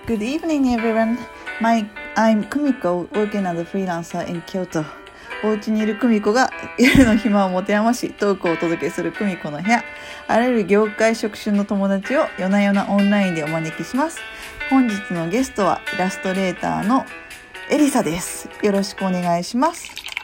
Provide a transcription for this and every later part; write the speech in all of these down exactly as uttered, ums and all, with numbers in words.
Good evening, everyone. My, I'm Kumiko, working as a freelancer in Kyoto. お家にいるクミコが夜の暇を持て余し、トークをお届けするクミコの部屋。あらゆる業界職種の友達を夜な夜なオンラインでお招きします。本日のゲストはイラストレーターのエリサです。よろしくお願いします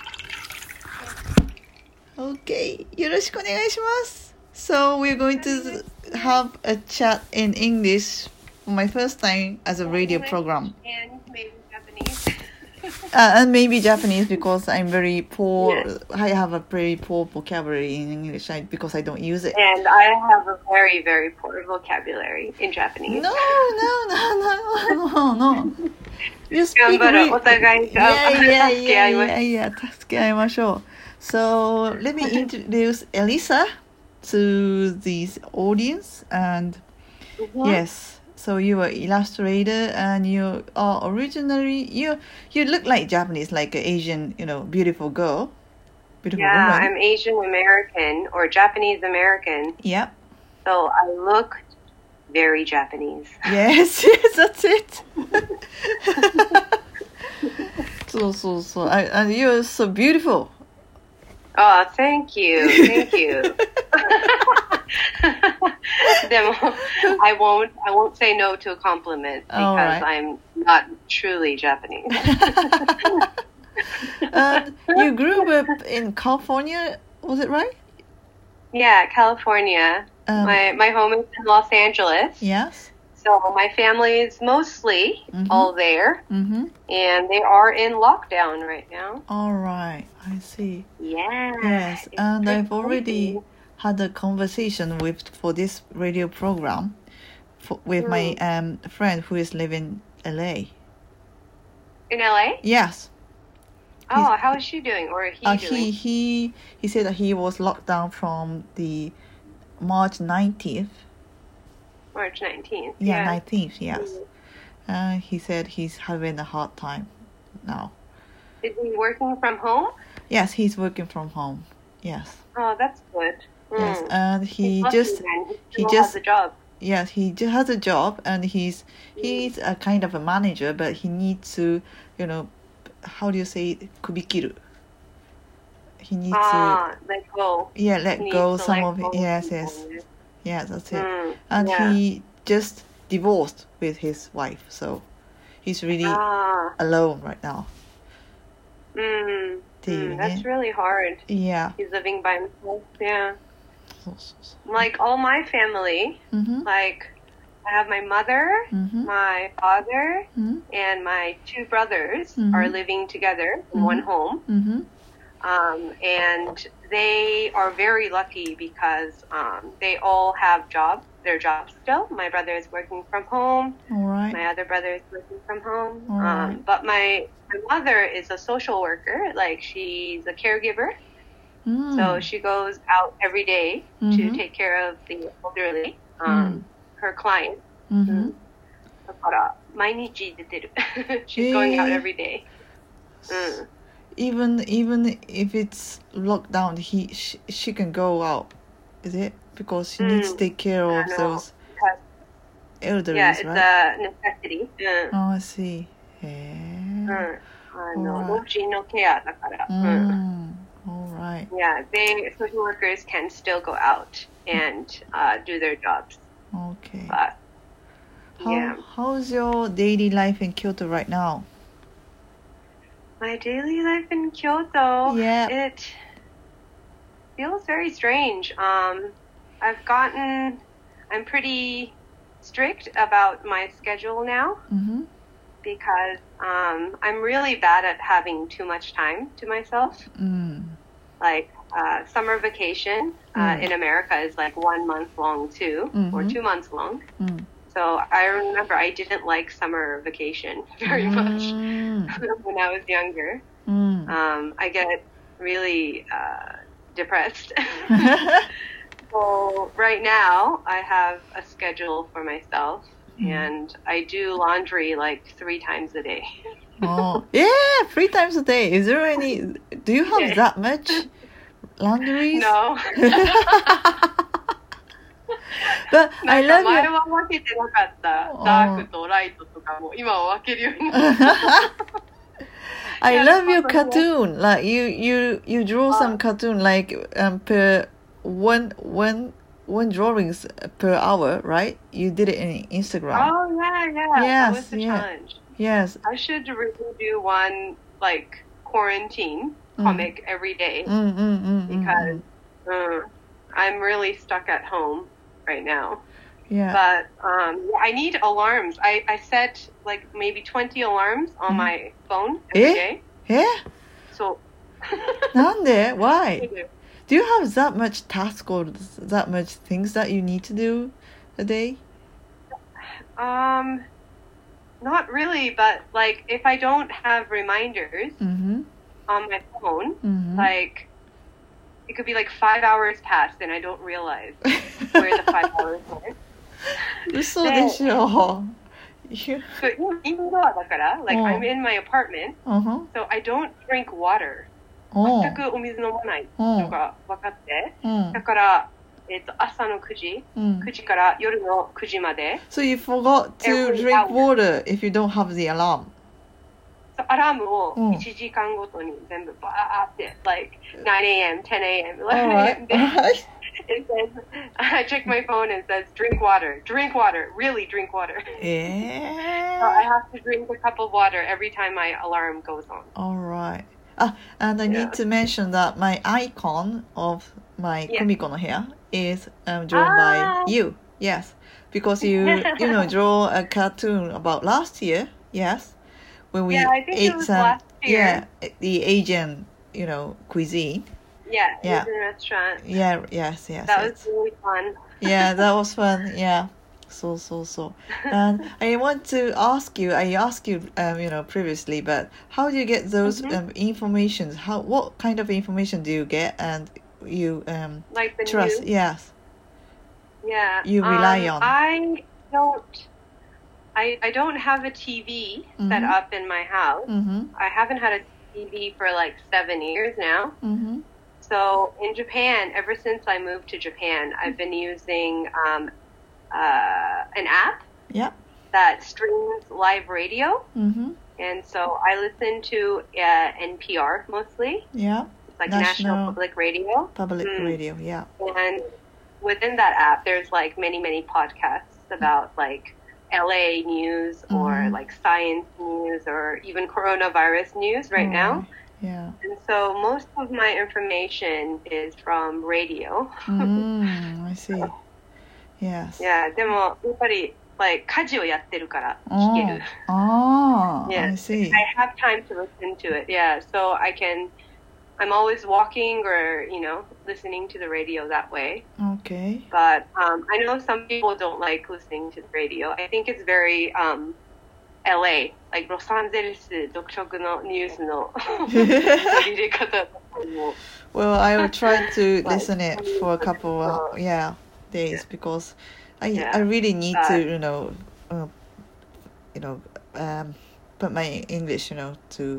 。Okay, よろしくお願いします。So we're going to have a chat in English for my first time as a radio program. And maybe Japanese. Uh, and maybe Japanese because I'm very poor. Yes. I have a very poor vocabulary in English I, because I don't use it. And I have a very, very poor vocabulary in Japanese. No, no, no, no, no, no. You speak really... Yeah, yeah, yeah, yeah, yeah. 助け合いましょう. So let me introduce Elisa to this audience. And mm-hmm. yes, so you are illustrator and you are originally, you you look like Japanese, like an Asian, you know, beautiful girl. Beautiful yeah, woman. I'm Asian American or Japanese American. Yep. So I look very Japanese. Yes, yes, that's it. so, so, so. I, and you're so beautiful. Oh, thank you. Thank you. でも I won't I won't say no to a compliment because right. I'm not truly Japanese. um, you grew up in California, was it right? Yeah, California. Um, my my home is in Los Angeles. Yes. So my family is mostly mm-hmm. all there, mm-hmm. and they are in lockdown right now. All right, I see. Yeah. Yes, and I've already had a conversation with for this radio program for, with mm. my um friend who is living in L A. In L A? Yes. Oh, He's, how is she doing, or he uh, doing? He he he said that he was locked down from the March nineteenth. March nineteenth. Yeah, yeah. nineteenth, yes. Mm-hmm. Uh, he said he's having a hard time now. Is he working from home? Yes, he's working from home. Yes. Oh, that's good. Mm. Yes, and he he's just lucky, he, he just has a job. Yes, he just has a job, and he's he's a kind of a manager, but he needs to, you know, how do you say kubikiru? He needs ah, to let go. Yeah, let he go some let of go it. Yes, yes. Yeah, that's it. Mm, and yeah. he just divorced with his wife, so he's really ah. alone right now. Mm, mm, that's really hard. Yeah. He's living by himself. Yeah. So, so, so. Like all my family, mm-hmm. like I have my mother, mm-hmm. my father, mm-hmm. and my two brothers mm-hmm. are living together in mm-hmm. one home. Mm-hmm. Um, and they are very lucky because um, they all have jobs, their jobs still. My brother is working from home. All right. My other brother is working from home. All right. Um, but my, my mother is a social worker, like she's a caregiver. Mm. So she goes out every day mm-hmm. to take care of the elderly, um, mm. her clients. Mm-hmm. だから毎日出てる。She's going out every day. Mm. Even even if it's locked down, he she, she can go out, is it? Because she needs to take care of those elderly, yeah, it's right? a necessity. Mm. Oh, I see. へえ。 あの、老人のケアだから。 Mm. All right. Yeah, they social workers can still go out and uh, do their jobs. Okay. But How, yeah. How's your daily life in Kyoto right now? My daily life in Kyoto, yeah. it feels very strange. Um, I've gotten, I'm pretty strict about my schedule now mm-hmm. because um, I'm really bad at having too much time to myself. Mm. Like uh, summer vacation uh, mm. in America is like one month long too, mm-hmm. or two months long. Mm. So I remember I didn't like summer vacation very much mm. when I was younger. Mm. Um, I get really uh, depressed. So right now I have a schedule for myself mm. and I do laundry like three times a day. Oh, yeah, three times a day. Is there any, do you have yeah. that much laundry? No. But な I んか love 前 your は分けてなかったうんダークとライトとかも今は分けるようになった I Yeah, love your that's awesome. cartoon. Like you you you draw some Uh, cartoon like um per one one one drawings per hour, right? You did it in Instagram. oh yeah, yeah, that was Yes, the yeah. challenge. Yes. I should really do one like quarantine Mm. comic every day Mm, mm, mm, mm, because mm. uh, I'm really stuck at home right now. Yeah. But um, yeah, I need alarms. I, I set like maybe twenty alarms on Mhm. my phone every Eh? day. え So なんで Why? Do you have that much task or that much things that you need to do a day? um, not really, but like if I don't have reminders Mm-hmm. on my phone, Mm-hmm. like it could be like five hours past and I don't realize where the five hours went. 嘘でしょ You- So even though だから, like Oh. I'm in my apartment, Uh-huh. so I don't drink water. おう全くお水飲まないおうのが分かって、 うんだから、えっと、朝のくじ、 うんくじから夜のくじまで、 So you forgot to Every drink hour. water if you don't have the alarm. そうアラームをうんいちじかんごとに全部バーって、like nine a.m., ten a.m., eleven Alright. a.m. で it says, I check my phone and it says, drink water, drink water, really drink water. え So I ー have to drink a cup of water every time my alarm goes on. Alright. Ah, and I Yeah. need to mention that my icon of my Yeah. Kumiko no hair is um, drawn Ah. by you. Yes. Because you, you know, draw a cartoon about last year. Yes. When we Yeah, I think it ate was some, last yeah, year. the Asian, you know, cuisine. Yeah, Yeah. Asian restaurant. Yeah, yes, yes. That yes. was really fun. Yeah, that was fun. Yeah. So, so, so. And I want to ask you, I asked you, um, you know, previously, but how do you get those Mhm. um, informations? How, what kind of information do you get and you um, Like the trust? news. Yes. Yeah. You rely um, on. I don't. I I don't have a T V set Mhm. up in my house. Mm-hmm. I haven't had a T V for like seven years now. Mm-hmm. So in Japan, ever since I moved to Japan, I've been using um, uh, an app Yeah. that streams live radio, Mm-hmm. and so I listen to uh, N P R mostly. Yeah. It's like National, National Public Radio. Public Mm. radio. Yeah. And within that app, there's like many, many podcasts about like L A news or Mhm. like science news or even coronavirus news right now. Yeah. And so most of my information is from radio. Mm, I see. Yes. Yeah, でもやっぱり like 家事をやってるから聞ける。 Oh, Yeah. I see. I have time to listen to it. Yeah, so I can. I'm always walking or you know listening to the radio that way. Okay. But um, I know some people don't like listening to the radio. I think it's very um, L A, like ロサンゼルス独特のニュースの取り入れ方だと思う。 Well, I will try to Like, listen it for a couple of yeah days because I Yeah. I really need Uh, to you know uh, you know um put my English you know to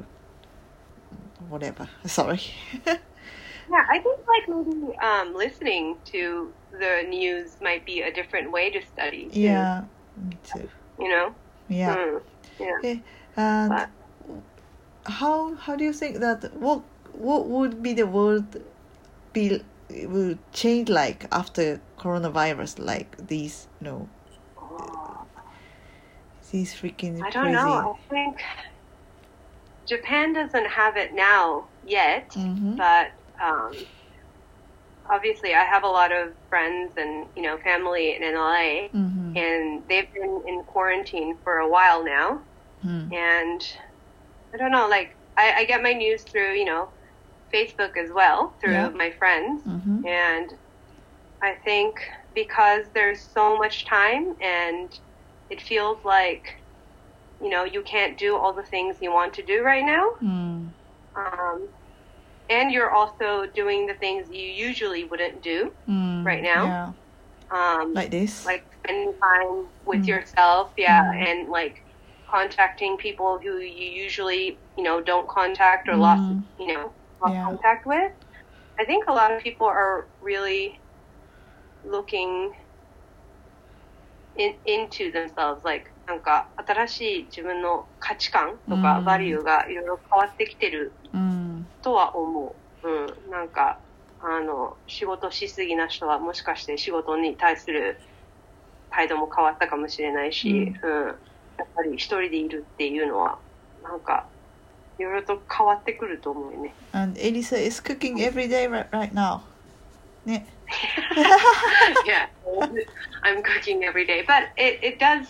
whatever. Sorry. Yeah, I think like maybe um, listening to the news might be a different way to study. Too, Yeah, me too. You know? Yeah. Mm, yeah. Okay. And But- how how do you think that what what would be the world be will change like after coronavirus like these you know these freaking I don't crazy know. I think Japan doesn't have it now yet, Mhm. but um, obviously I have a lot of friends and you know family in L A, Mhm. and they've been in quarantine for a while now. Mm. And I don't know, like I, I get my news through you know Facebook as well through Yeah. my friends, Mhm. and I think because there's so much time and it feels like you know you can't do all the things you want to do right now, Mm. um, and you're also doing the things you usually wouldn't do, Mm. right now. Yeah. um, Like this. like spending time with Mm. yourself, yeah, Mm. and like contacting people who you usually you know don't contact or lost Mm. you know lost Yeah. contact with. I think a lot of people are really looking in, into themselves, like なんか新しい自分の価値観とかバリューがいろいろ変わってきてるとは思う、うん、なんかあの仕事しすぎな人はもしかして仕事に対する態度も変わったかもしれないし、うんうん、やっぱり一人でいるっていうのはなんかいろいろと変わってくると思うよね。 And Elisa is cooking every day right, right now. ね。 Yeah, I'm cooking every day, but it it does.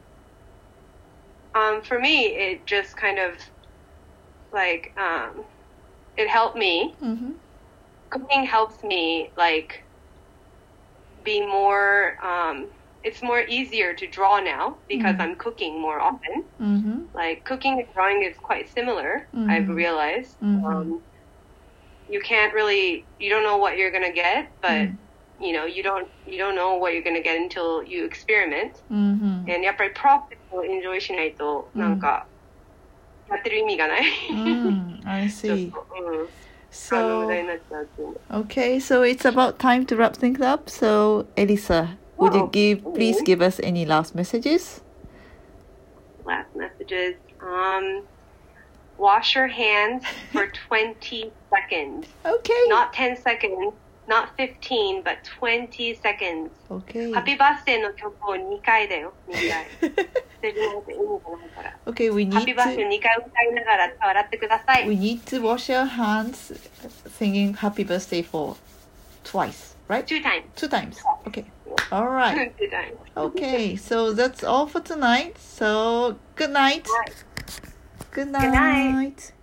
Um, for me, it just kind of like um, it helped me. Mm-hmm. Cooking helps me like be more. Um, it's more easier to draw now because mm-hmm. I'm cooking more often. Mm-hmm. Like cooking and drawing is quite similar. Mm-hmm. I've realized. Mm-hmm. Um, you can't really. You don't know what you're gonna get, but. Mm-hmm. You know, you don't you don't know what you're gonna get until you experiment. Mm-hmm. And やっぱりプロセスをエンジョイしないとなんかやってる意味がない。 mm, I see. ちょっと、うん、 So あの無駄になっちゃうっていうの。 Okay, so it's about time to wrap things up. So Elisa, would you give please give us any last messages? Last messages. Um, wash your hands for twenty seconds. Okay. Not ten seconds.Not fifteen, but twenty seconds. Okay. Happy birthday の曲をにかいだよ。にかい。捨てるなんて意味がないから。 Okay, we need Happy birthday にかい歌いながら笑ってください。 We need to wash our hands singing happy birthday for twice, right? Two times. Two times. Okay. All right. Two times. Okay, so that's all for tonight. So good night. Right. Good night. Good night.